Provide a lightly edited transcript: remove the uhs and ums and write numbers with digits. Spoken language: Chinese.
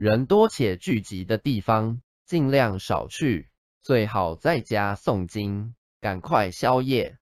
人多且聚集的地方，尽量少去，最好在家诵经，赶快宵夜。